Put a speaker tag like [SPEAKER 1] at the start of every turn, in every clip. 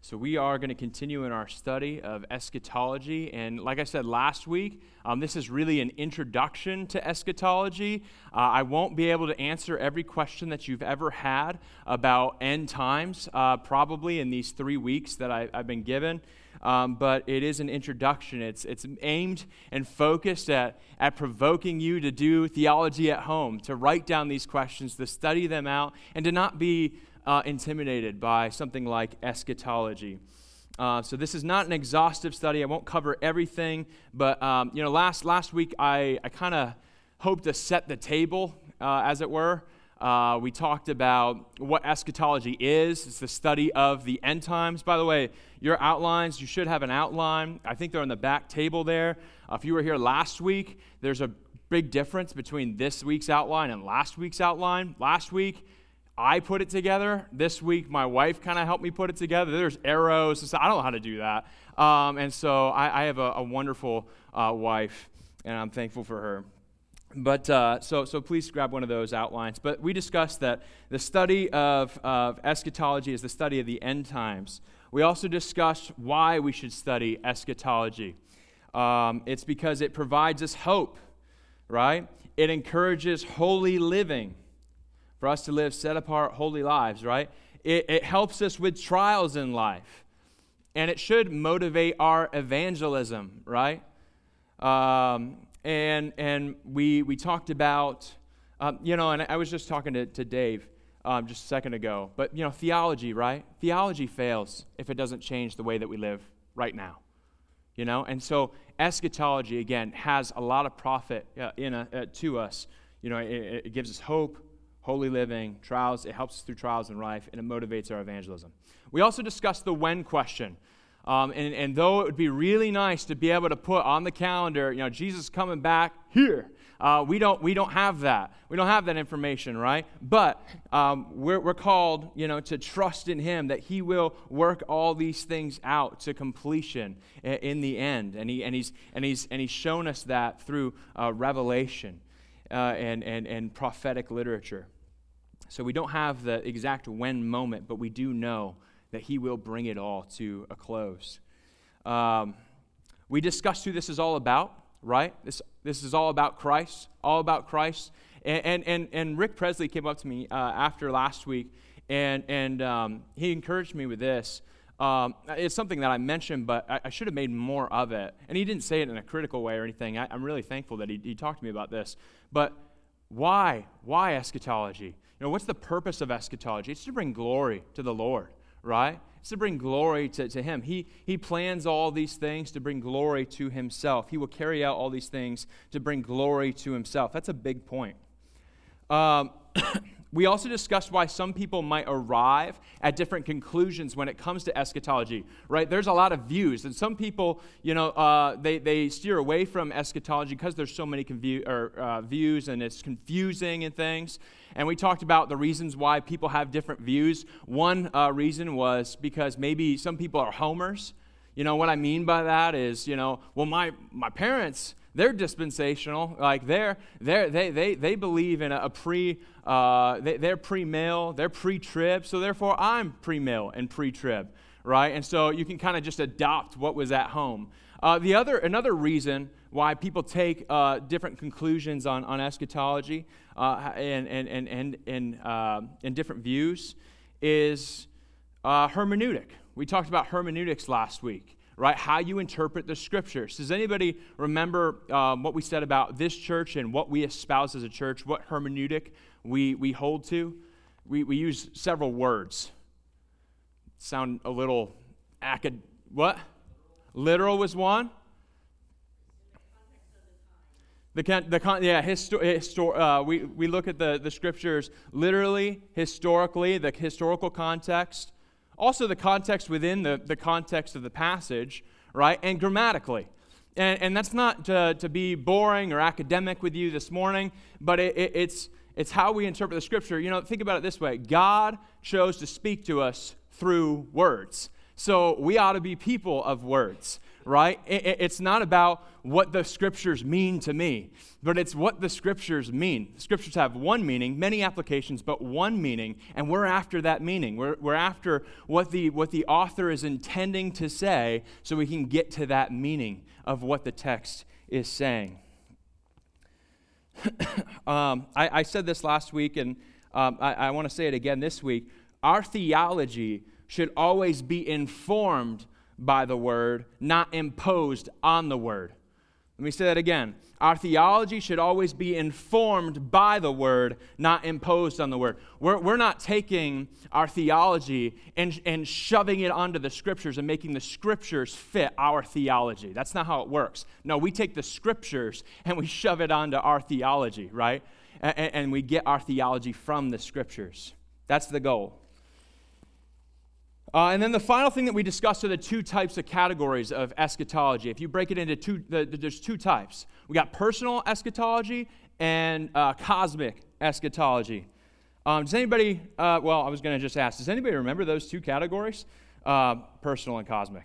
[SPEAKER 1] So we are going to continue in our study of eschatology, and like I said last week, this is really an introduction to eschatology. I won't be able to answer every question that you've ever had about end times, probably in these 3 weeks that I've been given, but it is an introduction. It's aimed and focused at provoking you to do theology at home, to write down these questions, to study them out, and to not be intimidated by something like eschatology. So this is not an exhaustive study. I won't cover everything, but last week I kind of hoped to set the table, as it were. We talked about what eschatology is. It's the study of the end times. By the way, your outlines, you should have an outline. I think they're on the back table there. If you were here last week, there's a big difference between this week's outline and last week's outline. Last week, I put it together. This week, my wife kind of helped me put it together. There's arrows and stuff. I don't know how to do that. And so I have a wonderful wife, and I'm thankful for her. But so please grab one of those outlines. But we discussed that the study of eschatology is the study of the end times. We also discussed why we should study eschatology. It's because it provides us hope, right? It encourages holy living, for us to live set-apart, holy lives, right? It helps us with trials in life. And it should motivate our evangelism, right? And we talked about, and I was just talking to Dave just a second ago, but, theology, right? Theology fails if it doesn't change the way that we live right now, And so eschatology, again, has a lot of profit to us. It gives us hope, holy living, trials. It helps us through trials in life, and it motivates our evangelism. We also discussed the when question. And though it would be really nice to be able to put on the calendar, Jesus coming back here, we don't have that. We don't have that information, right? But we're called, to trust in Him that He will work all these things out to completion in the end. And He's shown us that through Revelation and prophetic literature. So we don't have the exact when moment, but we do know that He will bring it all to a close. We discussed who this is all about, right? This is all about Christ, all about Christ. And Rick Presley came up to me after last week, and he encouraged me with this. It's something that I mentioned, but I should have made more of it. And he didn't say it in a critical way or anything. I'm really thankful that he talked to me about this. But why? Why eschatology? What's the purpose of eschatology? It's to bring glory to the Lord, right? It's to bring glory to Him. He plans all these things to bring glory to Himself. He will carry out all these things to bring glory to Himself. That's a big point. We also discussed why some people might arrive at different conclusions when it comes to eschatology, right? There's a lot of views, and some people, they steer away from eschatology because there's so many views, and it's confusing and things. And we talked about the reasons why people have different views. One reason was because maybe some people are homers. What I mean by that is, my parents, they're dispensational. Like they believe in they're pre-mill, they're pre-trib, so therefore I'm pre-mill and pre-trib, right? And so you can kind of just adopt what was at home. Another reason why people take different conclusions on eschatology and different views is hermeneutic. We talked about hermeneutics last week, right? How you interpret the Scriptures. Does anybody remember what we said about this church and what we espouse as a church, what hermeneutic we hold to? We use several words. Sound a little what? Literal was one. We look at the Scriptures literally, historically, the historical context, also the context within the context of the passage, right, and grammatically. And that's not to be boring or academic with you this morning, but it's how we interpret the Scripture. Think about it this way. God chose to speak to us through words. So we ought to be people of words, right? It's not about what the Scriptures mean to me, but it's what the Scriptures mean. The Scriptures have one meaning, many applications, but one meaning, and we're after that meaning. We're after what the author is intending to say so we can get to that meaning of what the text is saying. I said this last week, and I want to say it again this week. Our theology should always be informed by the Word, not imposed on the Word. Let me say that again. Our theology should always be informed by the Word, not imposed on the Word. We're not taking our theology and shoving it onto the Scriptures and making the Scriptures fit our theology. That's not how it works. No, we take the Scriptures and we shove it onto our theology, right? And we get our theology from the Scriptures. That's the goal. And then the final thing that we discussed are the two types of categories of eschatology. If you break it into two, there's two types. We got personal eschatology and cosmic eschatology. Does anybody, I was going to just ask, does anybody remember those two categories? Personal and cosmic.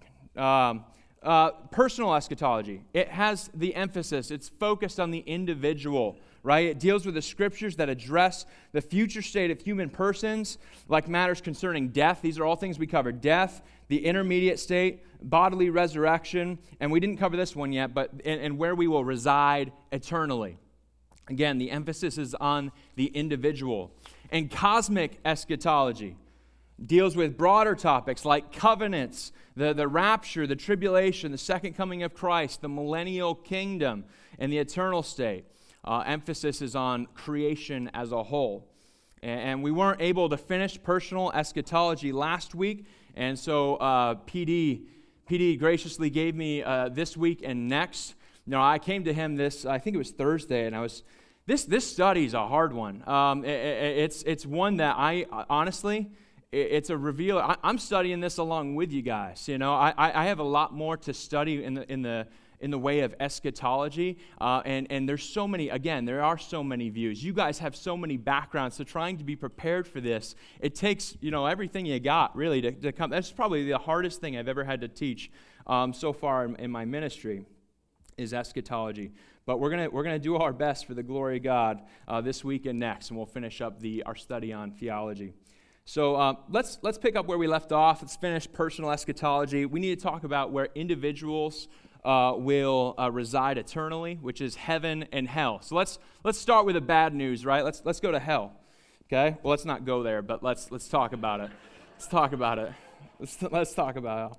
[SPEAKER 1] Personal eschatology, it has the emphasis, it's focused on the individual, right? It deals with the Scriptures that address the future state of human persons, like matters concerning death. These are all things we covered. Death, the intermediate state, bodily resurrection, and we didn't cover this one yet, but and where we will reside eternally. Again, the emphasis is on the individual. And cosmic eschatology deals with broader topics like covenants, the rapture, the tribulation, the second coming of Christ, the millennial kingdom, and the eternal state. Emphasis is on creation as a whole. And we weren't able to finish personal eschatology last week, and so PD graciously gave me this week and next. I came to him I think it was Thursday, and this study is a hard one. It's one that I honestly, it's a reveal. I'm studying this along with you guys. I have a lot more to study in the way of eschatology, and there's so many. Again, there are so many views. You guys have so many backgrounds. So trying to be prepared for this, it takes everything you got really to come. That's probably the hardest thing I've ever had to teach so far in my ministry, is eschatology. But we're gonna do our best for the glory of God this week and next, and we'll finish up our study on theology. So let's pick up where we left off. Let's finish personal eschatology. We need to talk about where individuals will reside eternally, which is heaven and hell. So let's start with the bad news, right? Let's go to hell. Okay? Well, let's not go there, but let's talk about it. Let's talk about it. Let's talk about hell.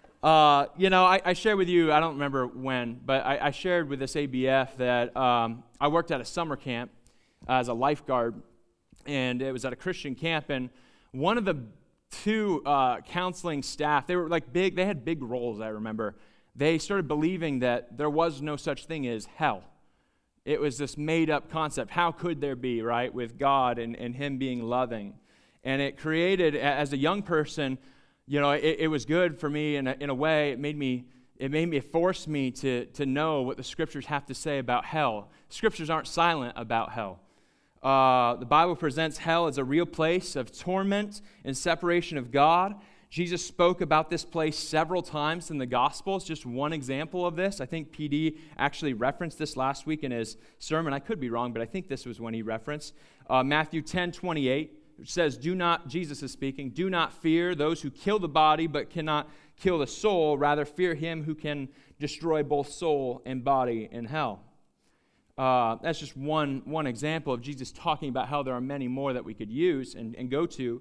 [SPEAKER 1] I shared with you, I don't remember when, but I shared with this ABF that I worked at a summer camp as a lifeguard, and it was at a Christian camp, and one of the two counseling staff, they were they had big roles, I remember. They started believing that there was no such thing as hell. It was this made-up concept. How could there be, right, with God and Him being loving? And it created, as a young person, it was good for me in a way. It forced me to know what the Scriptures have to say about hell. Scriptures aren't silent about hell. The Bible presents hell as a real place of torment and separation of God. Jesus spoke about this place several times in the Gospels. Just one example of this. I think PD actually referenced this last week in his sermon. I could be wrong, but I think this was when he referenced. Matthew 10:28, which says, Jesus is speaking, "Do not fear those who kill the body but cannot kill the soul. Rather fear him who can destroy both soul and body in hell." That's just one example of Jesus talking about how there are many more that we could use and go to.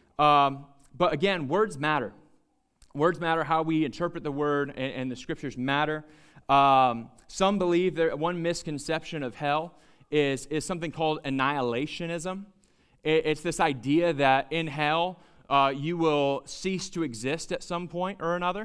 [SPEAKER 1] But again, words matter. Words matter. How we interpret the Word and the Scriptures matter. Some believe that one misconception of hell is something called annihilationism. It's this idea that in hell you will cease to exist at some point or another.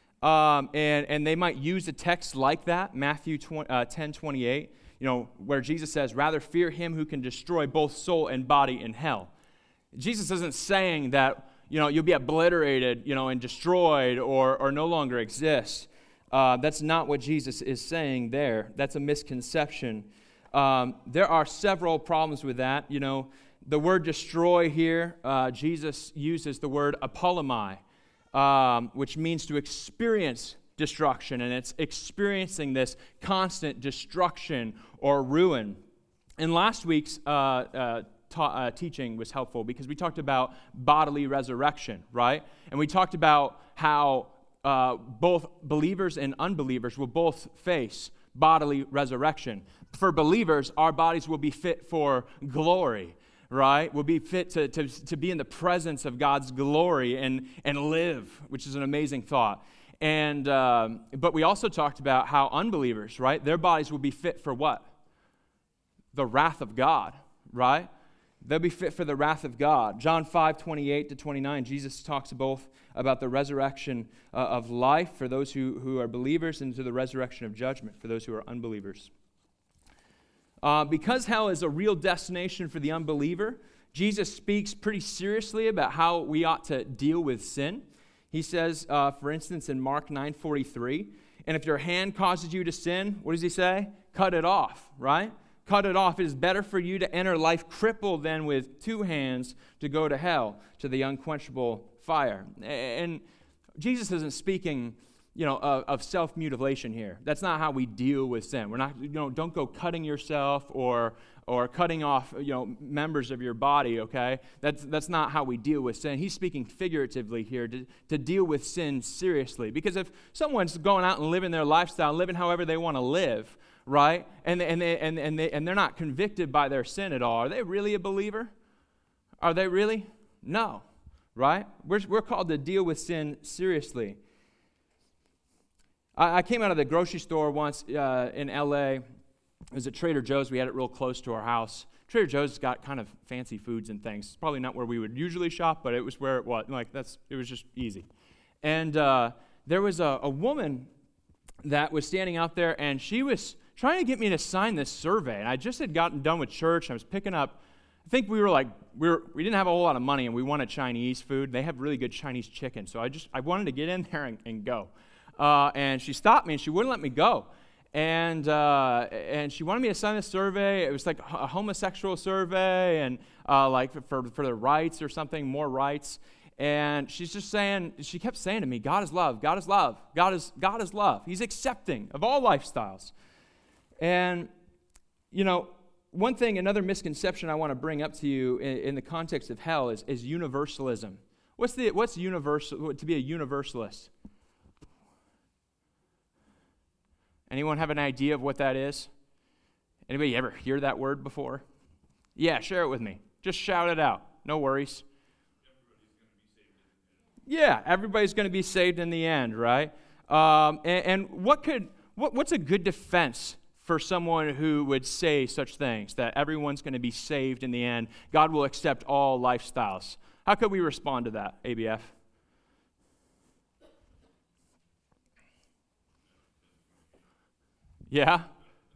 [SPEAKER 1] And they might use a text like that, Matthew 10:28, where Jesus says, "Rather fear him who can destroy both soul and body in hell." Jesus isn't saying that you'll be obliterated, and destroyed or no longer exist. That's not what Jesus is saying there. That's a misconception. There are several problems with that. The word destroy here, Jesus uses the word apollomai. which means to experience destruction, and it's experiencing this constant destruction or ruin. And last week's teaching was helpful because we talked about bodily resurrection, right? And we talked about how both believers and unbelievers will both face bodily resurrection. For believers, our bodies will be fit for glory, right? We'll be fit to be in the presence of God's glory and live, which is an amazing thought. And but we also talked about how unbelievers, right? Their bodies will be fit for what? The wrath of God, right? They'll be fit for the wrath of God. John 5:28-29, Jesus talks both about the resurrection of life for those who are believers and to the resurrection of judgment for those who are unbelievers. Because hell is a real destination for the unbeliever, Jesus speaks pretty seriously about how we ought to deal with sin. He says, for instance, in Mark 9:43, and if your hand causes you to sin, what does he say? Cut it off, right? Cut it off. It is better for you to enter life crippled than with two hands to go to hell, to the unquenchable fire. And Jesus isn't speaking, of self-mutilation here. That's not how we deal with sin. We're not, don't go cutting yourself or cutting off, members of your body, okay? That's not how we deal with sin. He's speaking figuratively here to deal with sin seriously. Because if someone's going out and living their lifestyle, living however they want to live, right? And they're not convicted by their sin at all. Are they really a believer? Are they really? No, right? We're called to deal with sin seriously. I came out of the grocery store once in L.A. It was at Trader Joe's. We had it real close to our house. Trader Joe's has got kind of fancy foods and things. It's probably not where we would usually shop, but it was where it was. It was just easy. And there was a woman that was standing out there, and she was trying to get me to sign this survey. And I just had gotten done with church. I was picking up, I think we didn't have a whole lot of money, and we wanted Chinese food. They have really good Chinese chicken. So I wanted to get in there and go. And she stopped me, and she wouldn't let me go. And she wanted me to sign this survey. It was like a homosexual survey, and for the rights or something, more rights. And she kept saying to me, God is love, God is love, God is love. He's accepting of all lifestyles. And, another misconception I want to bring up to you in the context of hell is universalism. What's universal, to be a universalist? Anyone have an idea of what that is? Anybody ever hear that word before? Yeah, share it with me. Just shout it out. No worries. Everybody's going to be saved in the end, right? And what's a good defense for someone who would say such things, that everyone's going to be saved in the end, God will accept all lifestyles? How could we respond to that, ABF? Yeah.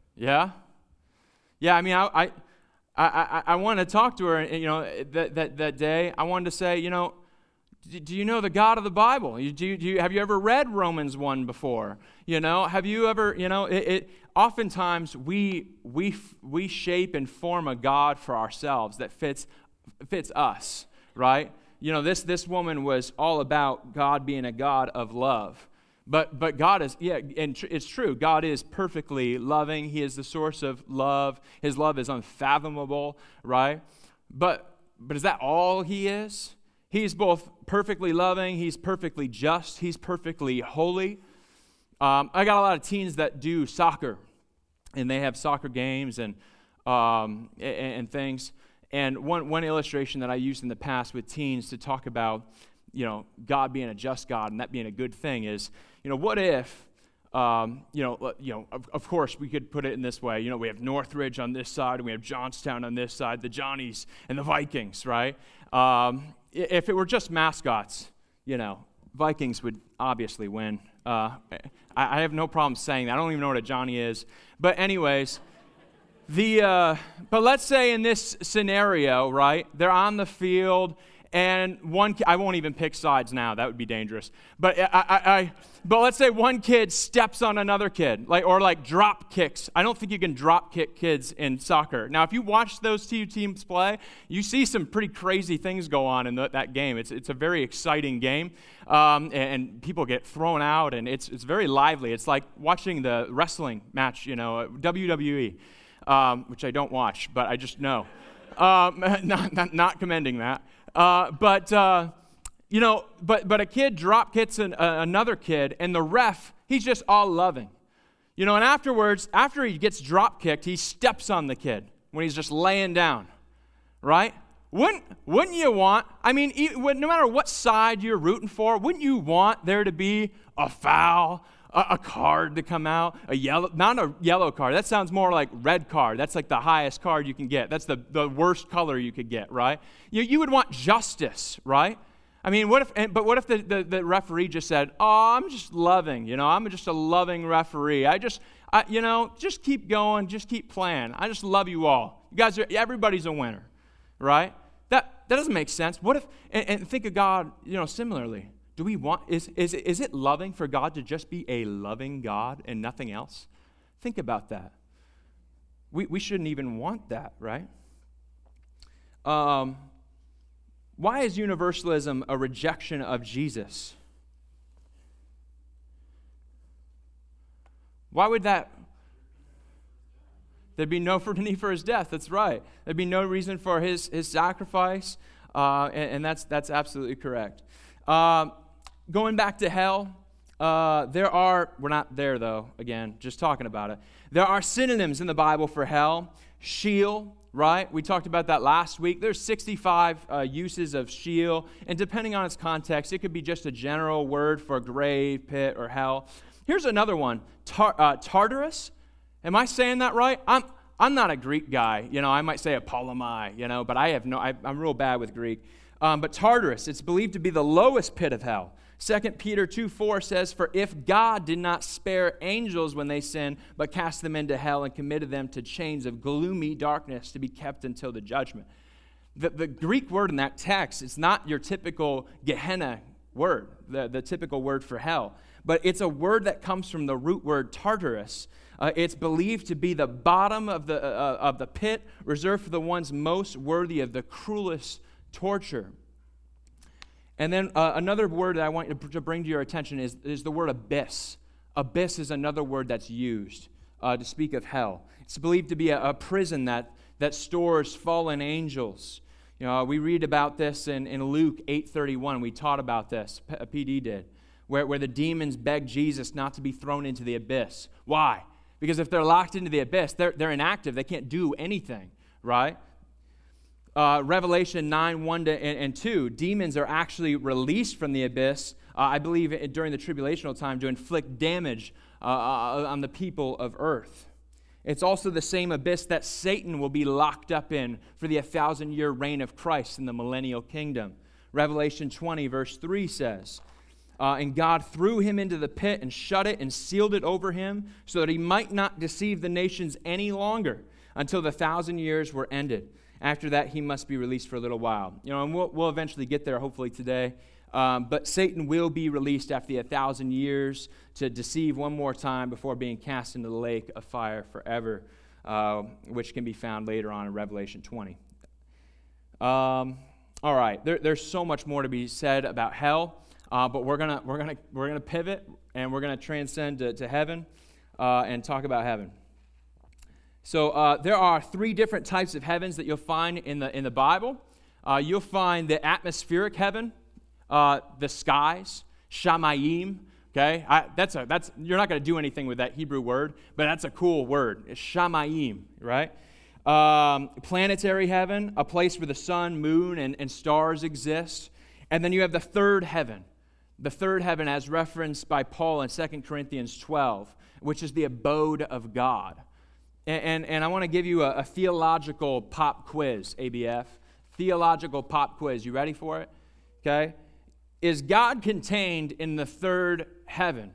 [SPEAKER 1] I mean, I wanted to talk to her, and, that day. I wanted to say, do you know the God of the Bible? Have you ever read Romans 1 before? Have you ever, oftentimes we shape and form a God for ourselves that fits us, right? This woman was all about God being a God of love. But God is, and it's true, God is perfectly loving. He is the source of love. His love is unfathomable, right? But is that all He is? He's both perfectly loving, He's perfectly just, He's perfectly holy. I got a lot of teens that do soccer, and they have soccer games and things. And one illustration that I used in the past with teens to talk about, God being a just God and that being a good thing is, what if, of course we could put it in this way. We have Northridge on this side and we have Johnstown on this side, the Johnnies and the Vikings, right? If it were just mascots, Vikings would obviously win. I have no problem saying that. I don't even know what a Johnny is. But anyways, but let's say in this scenario, right, they're on the field and I won't even pick sides now. That would be dangerous. But but let's say one kid steps on another kid, or drop kicks. I don't think you can drop kick kids in soccer. Now, if you watch those two teams play, you see some pretty crazy things go on in that game. It's a very exciting game, and people get thrown out, and it's very lively. It's like watching the wrestling match, WWE, which I don't watch, but I just know. Not commending that. But a kid drop kicks another kid, and the ref, he's just all loving. And afterwards, after he gets drop kicked, he steps on the kid when he's just laying down, right? Wouldn't you want, no matter what side you're rooting for, wouldn't you want there to be a foul, a card to come out, not a yellow card. That sounds more like red card. That's like the highest card you can get. That's the worst color you could get, right? You would want justice, right? What if the referee just said, "Oh, I'm just loving, I'm just a loving referee. Just keep going, just keep playing. I just love you all. You guys everybody's a winner," right? That doesn't make sense. What if and think of God, similarly. Do we want, is it loving for God to just be a loving God and nothing else? Think about that. We shouldn't even want that, right? Why is universalism a rejection of Jesus? Why would that? There'd be no need for his death. That's right. There'd be no reason for his sacrifice, and that's absolutely correct. Going back to hell, we're not there though, again, just talking about it. There are synonyms in the Bible for hell. Sheol, right? We talked about that last week. There's 65 uses of Sheol, and depending on its context, it could be just a general word for grave, pit, or hell. Here's another one, Tartarus. Am I saying that right? I'm not a Greek guy. I might say Apollomai, but I'm real bad with Greek. But Tartarus, it's believed to be the lowest pit of hell. 2 Peter 2:4 says, "For if God did not spare angels when they sinned, but cast them into hell and committed them to chains of gloomy darkness to be kept until the judgment." The Greek word in that text, it's not your typical Gehenna word, the typical word for hell, but it's a word that comes from the root word Tartarus. It's believed to be the bottom of the pit, reserved for the ones most worthy of the cruelest torture. And then another word that I want to bring to your attention is the word abyss. Abyss is another word that's used to speak of hell. It's believed to be a prison that stores fallen angels. We read about this in Luke 8:31. We taught about this, PD did, where the demons beg Jesus not to be thrown into the abyss. Why? Because if they're locked into the abyss, they're inactive. They can't do anything, right? Revelation 9:1-2, demons are actually released from the abyss, I believe, during the tribulational time to inflict damage on the people of earth. It's also the same abyss that Satan will be locked up in for the 1,000-year reign of Christ in the millennial kingdom. Revelation 20, verse 3 says, "And God threw him into the pit and shut it and sealed it over him so that he might not deceive the nations any longer until the 1,000 years were ended. After that, he must be released for a little while." And we'll eventually get there, hopefully today. But Satan will be released after the 1,000 years to deceive one more time before being cast into the lake of fire forever, which can be found later on in Revelation 20. All right, there's so much more to be said about hell, but we're gonna pivot and we're gonna transcend to heaven and talk about heaven. So there are 3 different types of heavens that you'll find in the Bible. You'll find the atmospheric heaven, the skies, shamayim. Okay, you're not going to do anything with that Hebrew word, but that's a cool word. It's shamayim, right? Planetary heaven, a place where the sun, moon, and stars exist. And then you have the third heaven. The third heaven, as referenced by Paul in 2 Corinthians 12, which is the abode of God. And I want to give you a theological pop quiz, ABF. Theological pop quiz. You ready for it? Okay. Is God contained in the third heaven?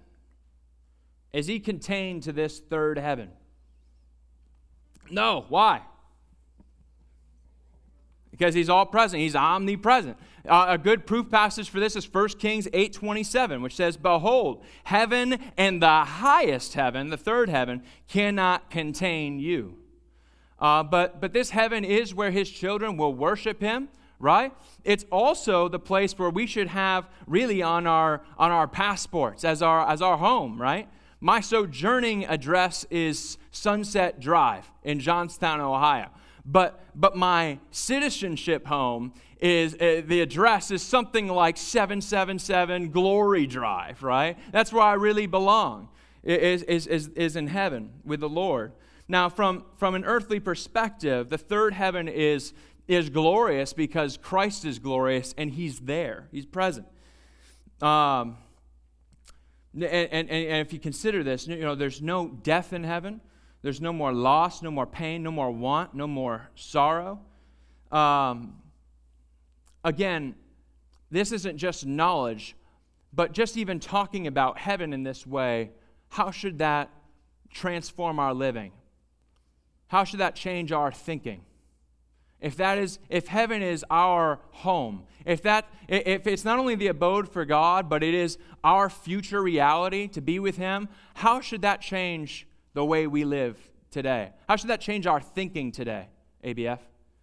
[SPEAKER 1] Is he contained to this third heaven? No. Why? because he's all present. He's omnipresent. A good proof passage for this is 1 Kings 8:27, which says, "Behold, heaven and the highest heaven, the third heaven, cannot contain you." But this heaven is where his children will worship him, right? It's also the place where we should have really on our passports as our home, right? My sojourning address is Sunset Drive in Johnstown, Ohio. But my citizenship home is, the address is something like 777 Glory Drive, right? That's where I really belong, is in heaven with the Lord. Now, from an earthly perspective, the third heaven is glorious because Christ is glorious and he's there. He's present. And if you consider this, there's no death in heaven. There's no more loss, no more pain, no more want, no more sorrow. Again, this isn't just knowledge, but just even talking about heaven in this way, how should that transform our living? How should that change our thinking? If heaven is our home, if it's not only the abode for God, but it is our future reality to be with him, how should that change the way we live today? How should that change our thinking today, ABF?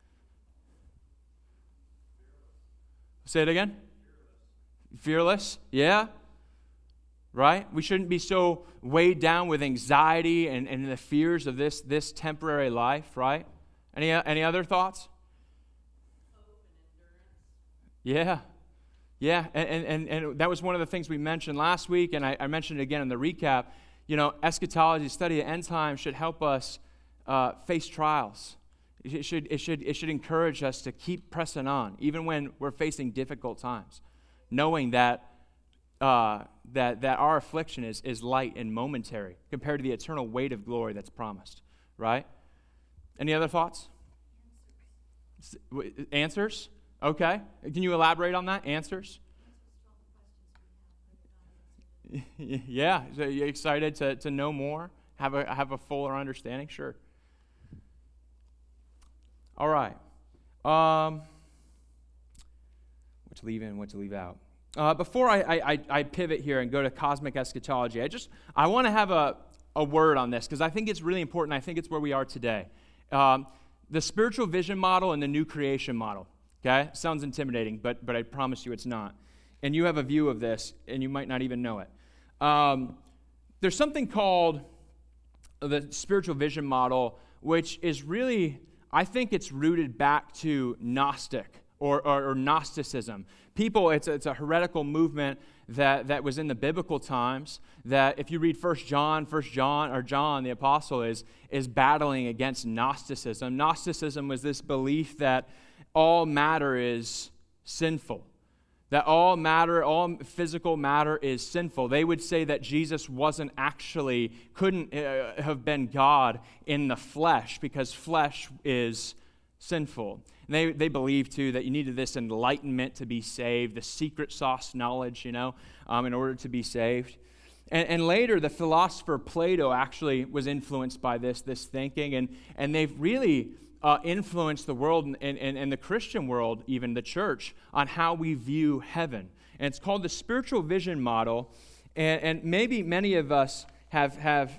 [SPEAKER 1] Say it again. Fearless? Yeah. Right? We shouldn't be so weighed down with anxiety and the fears of this temporary life, right? Any other thoughts? Yeah. Yeah, and that was one of the things we mentioned last week, and I mentioned it again in the recap. Eschatology, study of end times, should help us face trials. It should encourage us to keep pressing on, even when we're facing difficult times, knowing that our affliction is light and momentary compared to the eternal weight of glory that's promised. Right? Any other thoughts? Answers? Okay. Can you elaborate on that? Answers? Yeah. So you excited to know more? Have a fuller understanding? Sure. All right. What to leave in, what to leave out. Before I pivot here and go to cosmic eschatology, I want to have a word on this because I think it's really important. I think it's where we are today. The spiritual vision model and the new creation model. Okay? Sounds intimidating, but I promise you it's not. And you have a view of this, and you might not even know it. There's something called the spiritual vision model, which is really, I think it's rooted back to Gnostic or Gnosticism. People, it's a heretical movement that was in the biblical times, that if you read John the apostle is battling against Gnosticism. Gnosticism was this belief that all matter is sinful, that all physical matter is sinful. They would say that Jesus couldn't have been God in the flesh because flesh is sinful. And they believed, too, that you needed this enlightenment to be saved, the secret sauce knowledge, in order to be saved. And later, the philosopher Plato actually was influenced by this thinking, and they've really influenced the world and the Christian world, even the church, on how we view heaven. And it's called the spiritual vision model, and maybe many of us have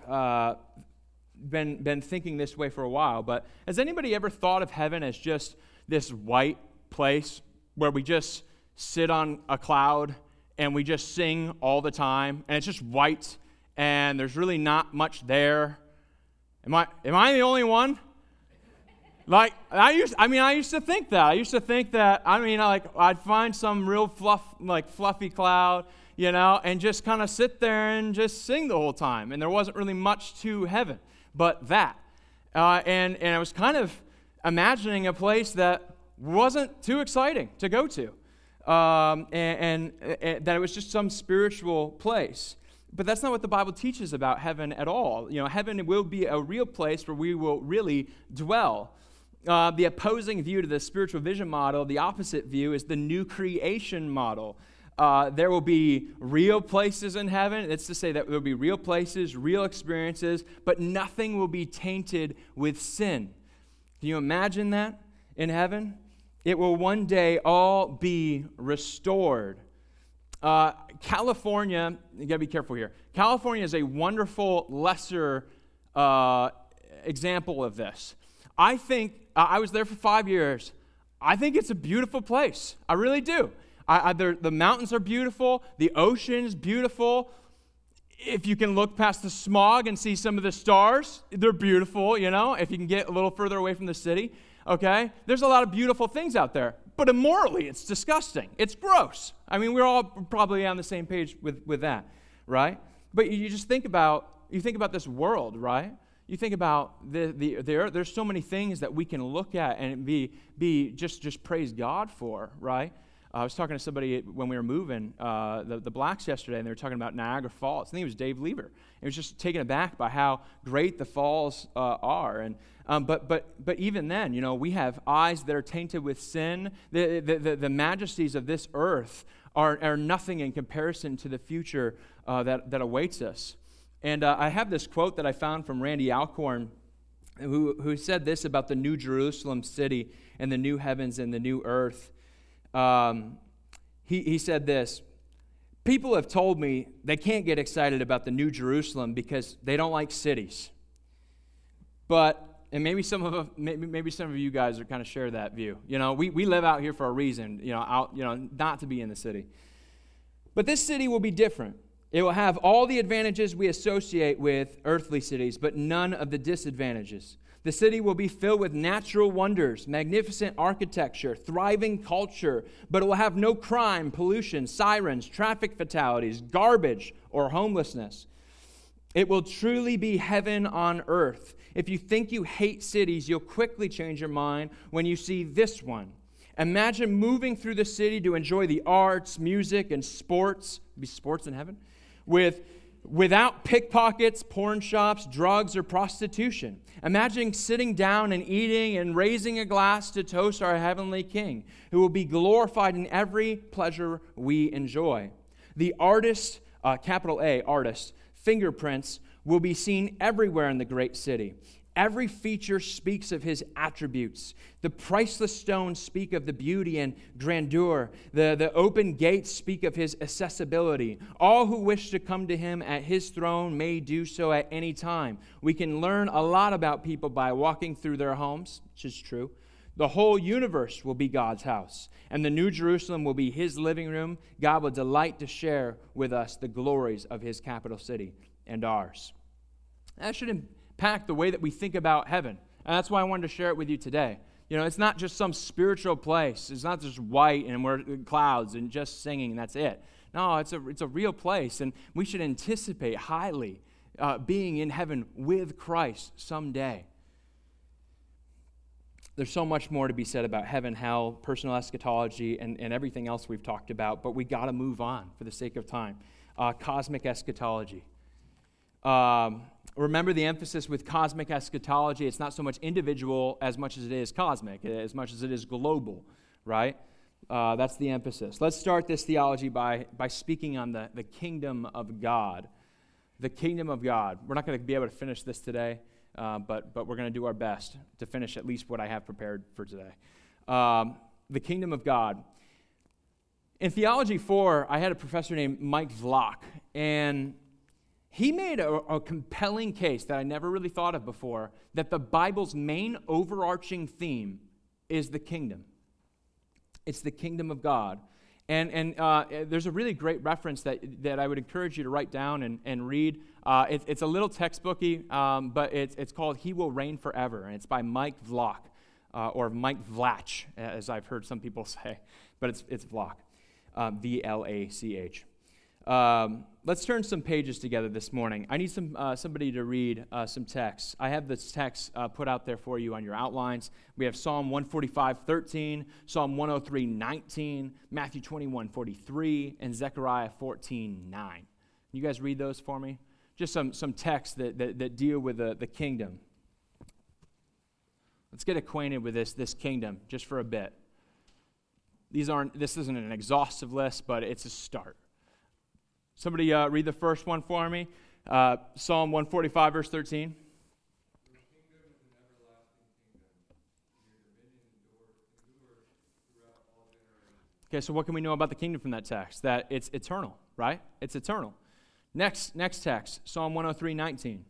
[SPEAKER 1] been thinking this way for a while, but has anybody ever thought of heaven as just this white place where we just sit on a cloud and we just sing all the time, and it's just white, and there's really not much there? Am I the only one? I used to think that. I'd find some real fluffy cloud, and just kind of sit there and just sing the whole time. And there wasn't really much to heaven but that. And I was kind of imagining a place that wasn't too exciting to go to, and that it was just some spiritual place. But that's not what the Bible teaches about heaven at all. Heaven will be a real place where we will really dwell. The opposing view to the spiritual vision model, the opposite view, is the new creation model. There will be real places in heaven. It's to say that there will be real places, real experiences, but nothing will be tainted with sin. Can you imagine that in heaven? It will one day all be restored. California, you got to be careful here. California is a wonderful lesser example of this. I think, I was there for 5 years. I think it's a beautiful place. I really do. The mountains are beautiful. The ocean's beautiful. If you can look past the smog and see some of the stars, they're beautiful, if you can get a little further away from the city, okay? There's a lot of beautiful things out there. But immorally, it's disgusting. It's gross. I mean, we're all probably on the same page with that, right? But you just think about this world, right? You think about the earth. There's so many things that we can look at and be just praise God for, right? I was talking to somebody when we were moving the Blacks yesterday, and they were talking about Niagara Falls. I think it was Dave Lever. He was just taken aback by how great the falls are. And but even then, we have eyes that are tainted with sin. The majesties of this earth are nothing in comparison to the future that awaits us. And I have this quote that I found from Randy Alcorn, who said this about the New Jerusalem city and the new heavens and the new earth. He said this: people have told me they can't get excited about the New Jerusalem because they don't like cities. And maybe some of you guys are kind of share that view. We live out here for a reason, not to be in the city. But this city will be different. It will have all the advantages we associate with earthly cities, but none of the disadvantages. The city will be filled with natural wonders, magnificent architecture, thriving culture, but it will have no crime, pollution, sirens, traffic fatalities, garbage, or homelessness. It will truly be heaven on earth. If you think you hate cities, you'll quickly change your mind when you see this one. Imagine moving through the city to enjoy the arts, music, and sports. Be sports in heaven? Without pickpockets, porn shops, drugs, or prostitution. Imagine sitting down and eating and raising a glass to toast our heavenly King, who will be glorified in every pleasure we enjoy. The artist, capital A, artist, fingerprints will be seen everywhere in the great city. Every feature speaks of his attributes. The priceless stones speak of the beauty and grandeur. The open gates speak of his accessibility. All who wish to come to him at his throne may do so at any time. We can learn a lot about people by walking through their homes, which is true. The whole universe will be God's house, and the New Jerusalem will be his living room. God will delight to share with us the glories of his capital city and ours. That should impact the way that we think about heaven. And that's why I wanted to share it with you today. It's not just some spiritual place. It's not just white and we're clouds and just singing and that's it. No, it's a real place, and we should anticipate highly being in heaven with Christ someday. There's so much more to be said about heaven, hell, personal eschatology, and everything else we've talked about, but we got to move on for the sake of time. Cosmic eschatology. Remember the emphasis with cosmic eschatology. It's not so much individual as much as it is cosmic, as much as it is global, right? That's the emphasis. Let's start this theology by speaking on the kingdom of God. The kingdom of God. We're not going to be able to finish this today, but we're going to do our best to finish at least what I have prepared for today. The kingdom of God. In Theology 4, I had a professor named Mike Vlock, and he made a compelling case that I never really thought of before, that the Bible's main overarching theme is the kingdom. It's the kingdom of God. And there's a really great reference that I would encourage you to write down and read. It's a little textbooky, but it's called He Will Reign Forever, and it's by Mike Vlock, or Mike Vlach, as I've heard some people say, but it's Vlock, V-L-A-C-H. Let's turn some pages together this morning. I need somebody to read some text. I have this text put out there for you on your outlines. We have Psalm 145:13, Psalm 103:19, Matthew 21:43, and Zechariah 14:9. You guys read those for me? Just some texts that deal with the kingdom. Let's get acquainted with this kingdom just for a bit. This isn't an exhaustive list, but it's a start. Somebody read the first one for me. Psalm 145, verse 13.
[SPEAKER 2] Your kingdom is an everlasting kingdom. Your dominion endures
[SPEAKER 1] Okay, so what can we know about the kingdom from that text? That it's eternal, right? It's eternal. Next text, Psalm 103:19.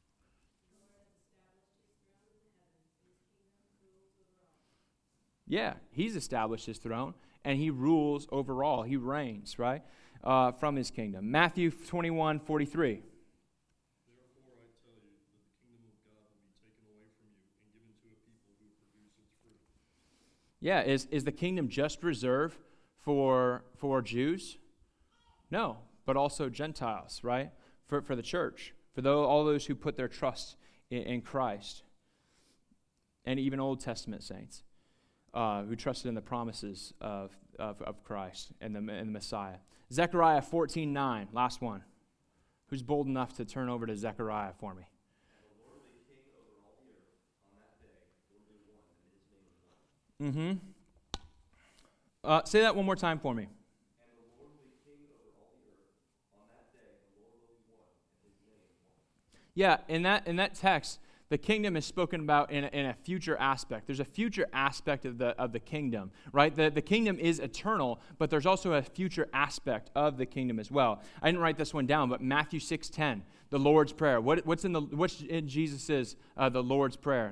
[SPEAKER 1] Yeah, he's established his throne, and he rules over all. He reigns, right, from his kingdom. Matthew 21:43.
[SPEAKER 2] Therefore I tell you that the kingdom of God will be taken away from you and given to a people who produce its fruit.
[SPEAKER 1] Yeah, is the kingdom just reserved for Jews? No, but also Gentiles, right? For the church, for all those who put their trust in Christ, and even Old Testament saints who trusted in the promises of Christ and the Messiah. Zechariah 14:9, last one. Who's bold enough to turn over to Zechariah for me?
[SPEAKER 3] And the Lord will be king over all the earth. On that day, there will be one, and his name is one.
[SPEAKER 1] Say that one more time for me.
[SPEAKER 3] And the Lord will be king over all the earth. On that day, the Lord will be one, and his name is one.
[SPEAKER 1] Yeah, in that text, the kingdom is spoken about in a future aspect. There's a future aspect of the kingdom, right? The kingdom is eternal, but there's also a future aspect of the kingdom as well. I didn't write this one down, but Matthew 6:10, the Lord's Prayer. What's in Jesus' the Lord's Prayer?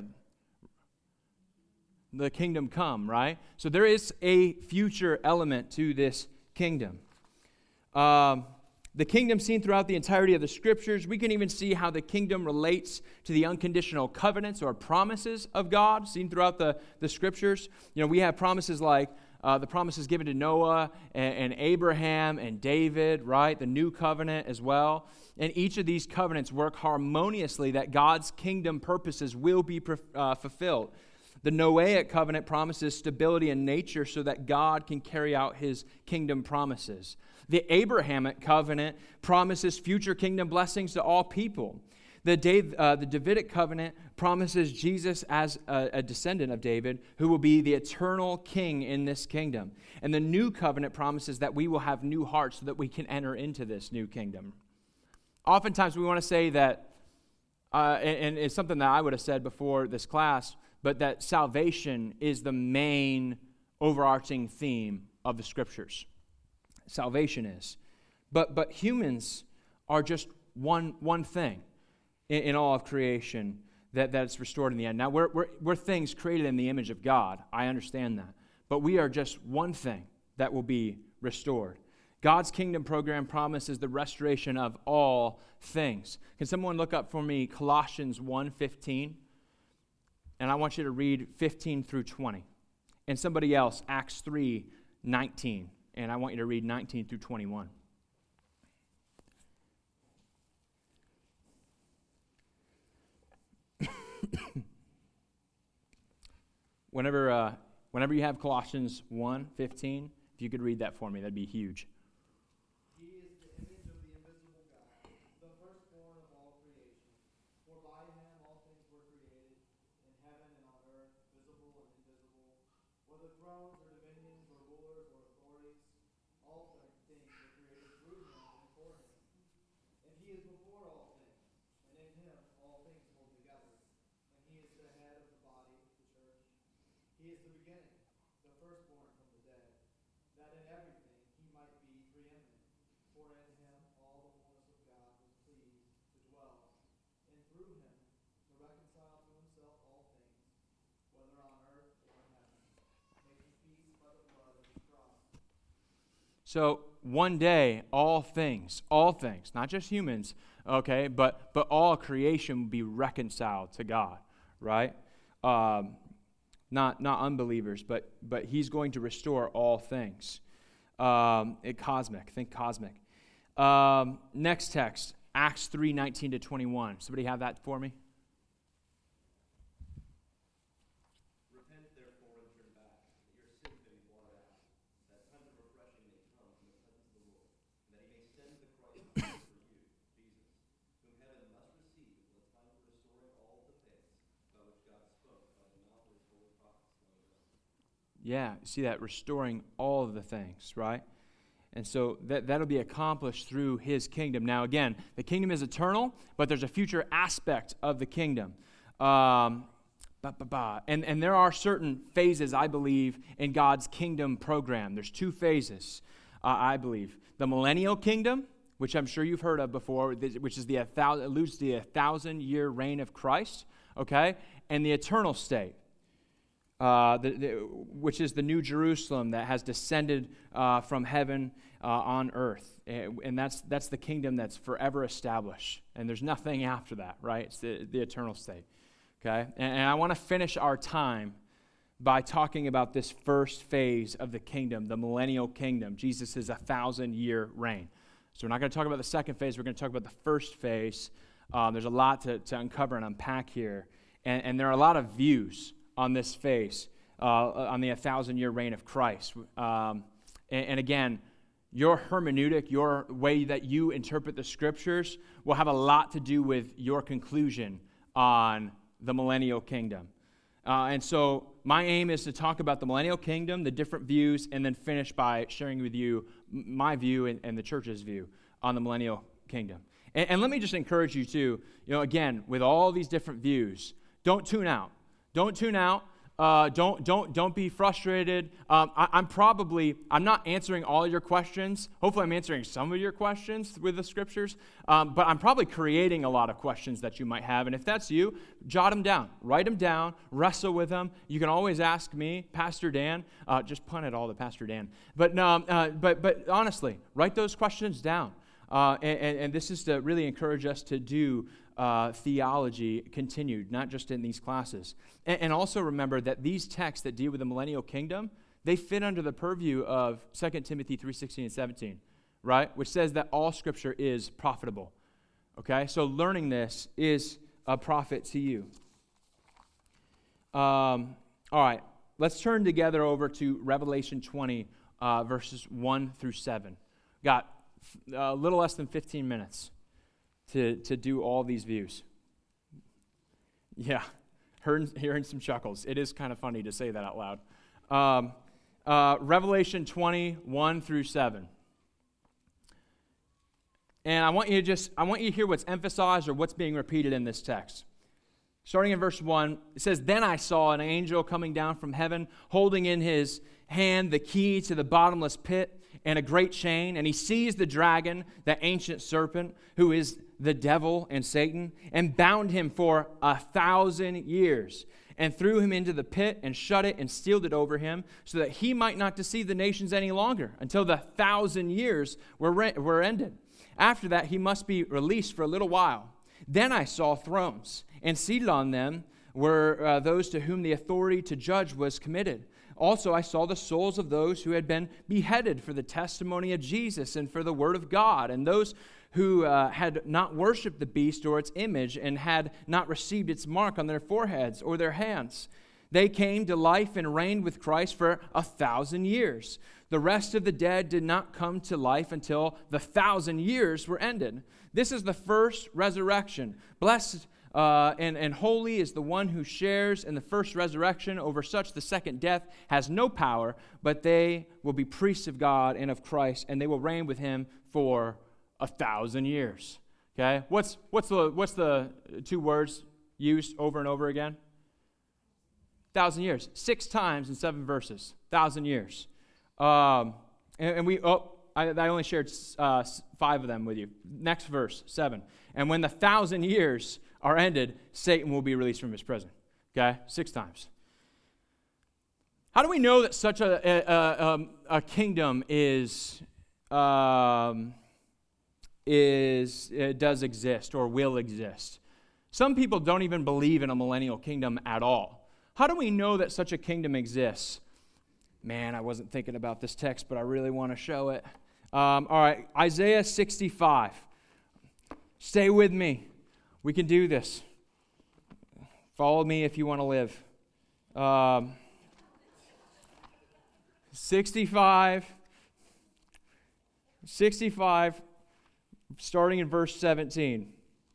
[SPEAKER 1] The kingdom come, right? So there is a future element to this kingdom. The kingdom seen throughout the entirety of the scriptures. We can even see how the kingdom relates to the unconditional covenants or promises of God seen throughout the scriptures. You know, we have promises like the promises given to Noah and Abraham and David, right? The new covenant as well. And each of these covenants work harmoniously that God's kingdom purposes will be fulfilled. The Noahic covenant promises stability in nature so that God can carry out his kingdom promises. The Abrahamic covenant promises future kingdom blessings to all people. The Davidic covenant promises Jesus as a descendant of David who will be the eternal king in this kingdom. And the new covenant promises that we will have new hearts so that we can enter into this new kingdom. Oftentimes we want to say that, and it's something that I would have said before this class, but that salvation is the main overarching theme of the scriptures. Salvation is. But humans are just one thing in all of creation that's restored in the end. Now, we're things created in the image of God. I understand that. But we are just one thing that will be restored. God's kingdom program promises the restoration of all things. Can someone look up for me Colossians 1:15? And I want you to read 15 through 20. And somebody else, Acts 3:19. And I want you to read 19 through 21. Whenever you have Colossians 1:15, if you could read that for me, that'd be huge.
[SPEAKER 4] He is the image of the invisible God, the firstborn of all creation. For by him all things were created, in heaven and on earth, visible and invisible, whether thrones or dominions or rulers or authorities, all things were created through him and for him. And he is before all things, and in him all things hold together. And he is the head of the body, the church. He is the beginning, the firstborn from the dead, that in everything he might be preeminent. For in him all the fullness of God was pleased to dwell, and through him to reconcile to himself all things, whether on earth or in heaven, making peace by the blood of his cross.
[SPEAKER 1] So one day, all things, not just humans, okay, but all creation will be reconciled to God, right? Not unbelievers, but he's going to restore all things. Cosmic. Next text, Acts 3:19 to 21. Somebody have that for me?
[SPEAKER 3] Repent therefore and turn back, that your sins may be blotted out, that times of refreshing may come from the presence of the Lord, and that he may send the Christ for you, Jesus, whom heaven must receive until the time for restoring all the things by which God spoke by the mouth of his holy prophets long ago.
[SPEAKER 1] Yeah, see that, restoring all of the things, right? And so that'll be accomplished through his kingdom. Now again, the kingdom is eternal, but there's a future aspect of the kingdom. But And there are certain phases, I believe, in God's kingdom program. There's 2 phases, I believe. The millennial kingdom, which I'm sure you've heard of before, which is alludes to the 1,000-year reign of Christ, okay? And the eternal state, which is the New Jerusalem that has descended from heaven on earth. And that's the kingdom that's forever established. And there's nothing after that, right? It's the eternal state, okay? And I want to finish our time by talking about this first phase of the kingdom, the millennial kingdom. Jesus is 1,000-year reign. So we're not going to talk about the second phase. We're going to talk about the first phase. There's a lot to uncover and unpack here. And there are a lot of views on this phase, on the 1,000-year reign of Christ. And again, your hermeneutic, your way that you interpret the Scriptures will have a lot to do with your conclusion on the millennial kingdom. And so my aim is to talk about the millennial kingdom, the different views, and then finish by sharing with you my view and the church's view on the millennial kingdom. And let me just encourage you to, again, with all these different views, don't tune out. Don't tune out. Don't be frustrated. I'm not answering all your questions. Hopefully I'm answering some of your questions with the Scriptures. But I'm probably creating a lot of questions that you might have. And if that's you, jot them down. Write them down. Wrestle with them. You can always ask me, Pastor Dan. Just punt it all to Pastor Dan. But honestly, write those questions down. And this is to really encourage us to do theology continued, not just in these classes. And also remember that these texts that deal with the millennial kingdom, they fit under the purview of 2 Timothy 3:16 and 17, right? Which says that all Scripture is profitable. Okay? So learning this is a profit to you. All right. Let's turn together over to Revelation 20, verses 1 through 7. Got a little less than 15 minutes to do all these views. Yeah, hearing some chuckles. It is kind of funny to say that out loud. Revelation 20, 1 through 7. And I want you to hear what's emphasized or what's being repeated in this text. Starting in verse 1, it says, "Then I saw an angel coming down from heaven, holding in his hand the key to the bottomless pit and a great chain, and he seized the dragon, that ancient serpent, who is the devil and Satan, and bound him for 1,000 years, and threw him into the pit, and shut it, and sealed it over him, so that he might not deceive the nations any longer, until the 1,000 years were ended. After that, he must be released for a little while. Then I saw thrones, and seated on them were those to whom the authority to judge was committed. Also, I saw the souls of those who had been beheaded for the testimony of Jesus and for the word of God, and those who had not worshipped the beast or its image and had not received its mark on their foreheads or their hands. They came to life and reigned with Christ for 1,000 years. The rest of the dead did not come to life until the 1,000 years were ended. This is the first resurrection. Blessed and holy is the one who shares in the first resurrection. Over such the second death has no power, but they will be priests of God and of Christ, and they will reign with him for 1,000 years. Okay? What's the 2 words used over and over again? 1,000 years. 6 times in 7 verses. 1,000 years. I only shared 5 of them with you. Next verse, 7. And when the 1,000 years are ended, Satan will be released from his prison. Okay? 6 times. How do we know that such a kingdom does exist or will exist? Some people don't even believe in a millennial kingdom at all. How do we know that such a kingdom exists? Man, I wasn't thinking about this text, but I really want to show it. All right, Isaiah 65. Stay with me. We can do this. Follow me if you want to live. 65, starting in verse 17.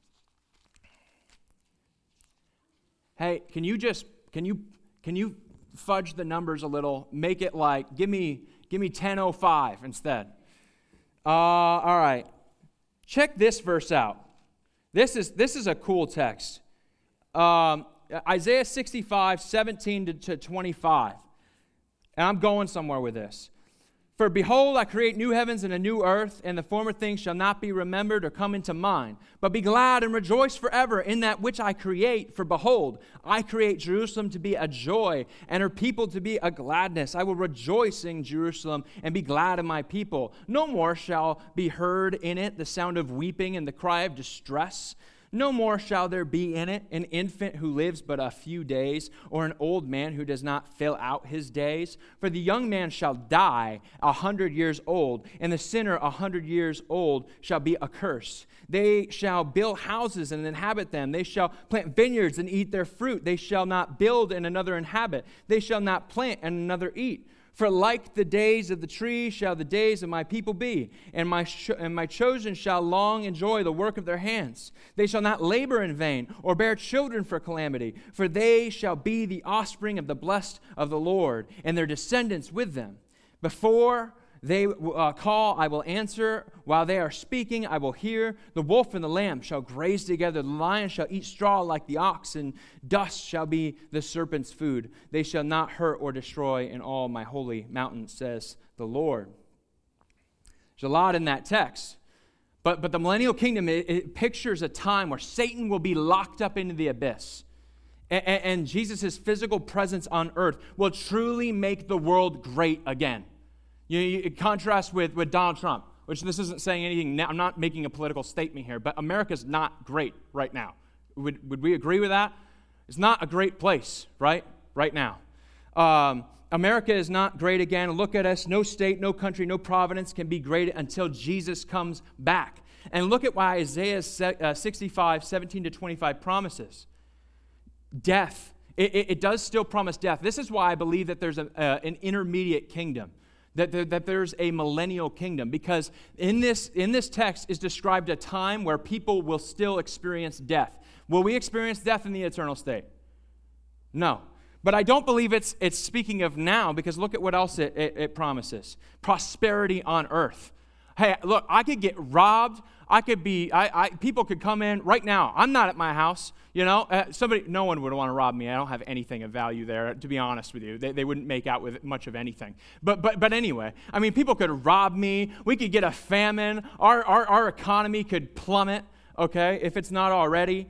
[SPEAKER 1] Hey, can you fudge the numbers a little? Make it like, give me 10:05 instead. All right. Check this verse out. This is a cool text. Isaiah 65, 17 to 25. And I'm going somewhere with this. For behold, I create new heavens and a new earth, and the former things shall not be remembered or come into mind. But be glad and rejoice forever in that which I create. For behold, I create Jerusalem to be a joy, and her people to be a gladness. I will rejoice in Jerusalem and be glad in my people. No more shall be heard in it the sound of weeping and the cry of distress. No more shall there be in it an infant who lives but a few days, or an old man who does not fill out his days. For the young man shall die 100 years old, and the sinner 100 years old shall be accursed. They shall build houses and inhabit them. They shall plant vineyards and eat their fruit. They shall not build and another inhabit. They shall not plant and another eat. For like the days of the tree shall the days of my people be, and my chosen shall long enjoy the work of their hands. They shall not labor in vain, or bear children for calamity, for they shall be the offspring of the blessed of the Lord, and their descendants with them. Before they call, I will answer. While they are speaking, I will hear. The wolf and the lamb shall graze together. The lion shall eat straw like the ox, and dust shall be the serpent's food. They shall not hurt or destroy in all my holy mountain, says the Lord. There's a lot in that text. But the millennial kingdom, it pictures a time where Satan will be locked up into the abyss. And Jesus' physical presence on earth will truly make the world great again. You contrast with Donald Trump, which this isn't saying anything. I'm not making a political statement here, but America's not great right now. Would we agree with that? It's not a great place, right now. America is not great again. Look at us. No state, no country, no providence can be great until Jesus comes back. And look at why Isaiah 65, 17 to 25 promises. Death. It does still promise death. This is why I believe that there's an intermediate kingdom. That there's a millennial kingdom, because in this text is described a time where people will still experience death. Will we experience death in the eternal state? No. But I don't believe it's speaking of now, because look at what else it promises. Prosperity on earth. Hey, look, I could get robbed. I could be, people could come in right now. I'm not at my house, no one would want to rob me. I don't have anything of value there, to be honest with you. They wouldn't make out with much of anything. But anyway, I mean, people could rob me. We could get a famine. Our economy could plummet, okay, if it's not already.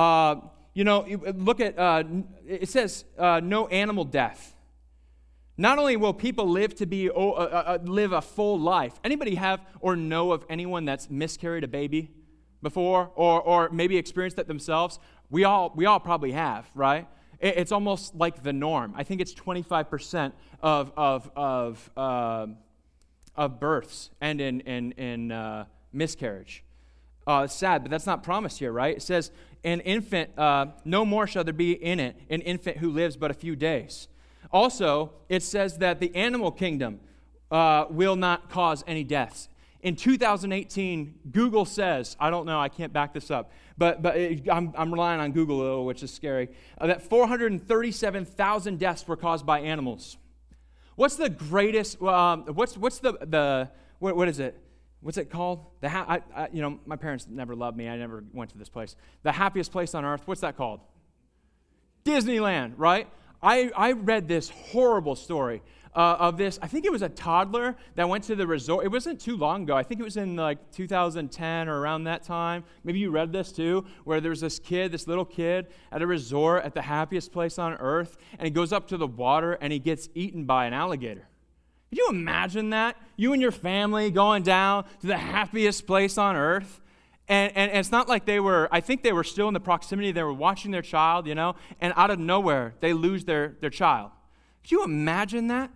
[SPEAKER 1] Look at, it says no animal death. Not only will people live to live a full life. Anybody have or know of anyone that's miscarried a baby before, or maybe experienced that themselves? We all probably have, right? It's almost like the norm. I think it's 25% of births end in miscarriage. It's sad, but that's not promised here, right? It says, an infant, no more shall there be in it an infant who lives but a few days. Also, it says that the animal kingdom will not cause any deaths. In 2018, Google says, I don't know, I can't back this up, but I'm relying on Google a little, which is scary, that 437,000 deaths were caused by animals. What's the greatest, what is it? What's it called? My parents never loved me. I never went to this place. The happiest place on earth, what's that called? Disneyland, right? I read this horrible story of this. I think it was a toddler that went to the resort. It wasn't too long ago. I think it was in like 2010 or around that time. Maybe you read this too, where there's this little kid at a resort at the happiest place on earth, and he goes up to the water and he gets eaten by an alligator. Could you imagine that? You and your family going down to the happiest place on earth. And it's not like I think they were still in the proximity, they were watching their child, and out of nowhere, they lose their child. Could you imagine that?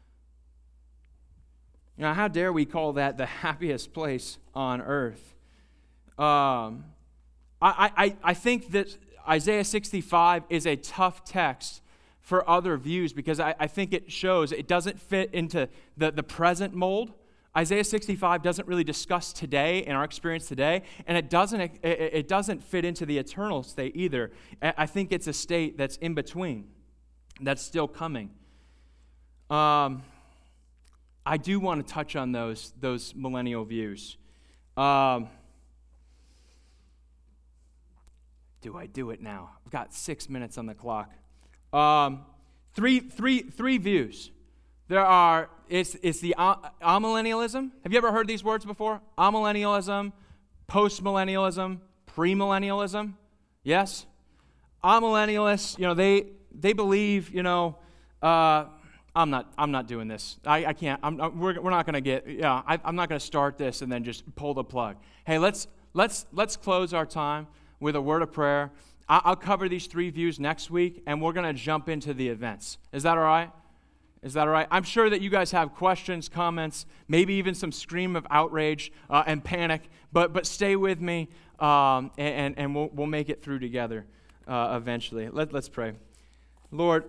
[SPEAKER 1] How dare we call that the happiest place on earth? I think that Isaiah 65 is a tough text for other views, because I think it shows it doesn't fit into the present mold. Isaiah 65 doesn't really discuss today and our experience today, and it doesn't fit into the eternal state either. I think it's a state that's in between, that's still coming. I do want to touch on those millennial views. do I do it now? I've got 6 minutes on the clock. Three views. It's the amillennialism. Have you ever heard these words before? Amillennialism, postmillennialism, premillennialism. Yes? Amillennialists, they believe, I'm not doing this. I can't. We're not going to get. I'm not going to start this and then just pull the plug. Hey, let's close our time with a word of prayer. I'll cover these 3 views next week, and we're going to jump into the events. Is that all right? Is that all right? I'm sure that you guys have questions, comments, maybe even some scream of outrage and panic. But stay with me, and we'll make it through together eventually. Let's pray. Lord,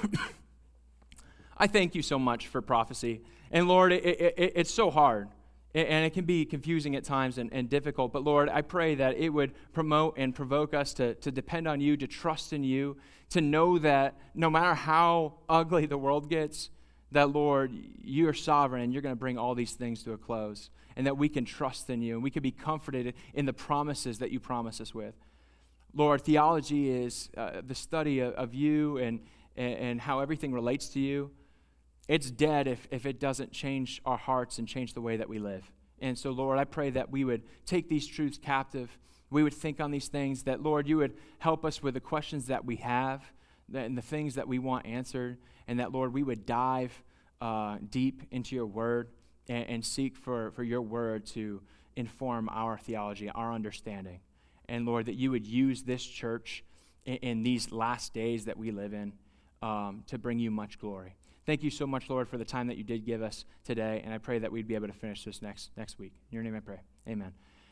[SPEAKER 1] I thank you so much for prophecy. And Lord, it's so hard. And it can be confusing at times and difficult. But Lord, I pray that it would promote and provoke us to depend on you, to trust in you, to know that no matter how ugly the world gets, that Lord, you are sovereign and you're going to bring all these things to a close. And that we can trust in you and we can be comforted in the promises that you promise us with. Lord, theology is the study of you and how everything relates to you. It's dead if it doesn't change our hearts and change the way that we live. And so, Lord, I pray that we would take these truths captive. We would think on these things, that, Lord, you would help us with the questions that we have and the things that we want answered, and that, Lord, we would dive deep into your word and seek for your word to inform our theology, our understanding. And, Lord, that you would use this church in these last days that we live in to bring you much glory. Thank you so much, Lord, for the time that you did give us today, and I pray that we'd be able to finish this next week. In your name I pray. Amen.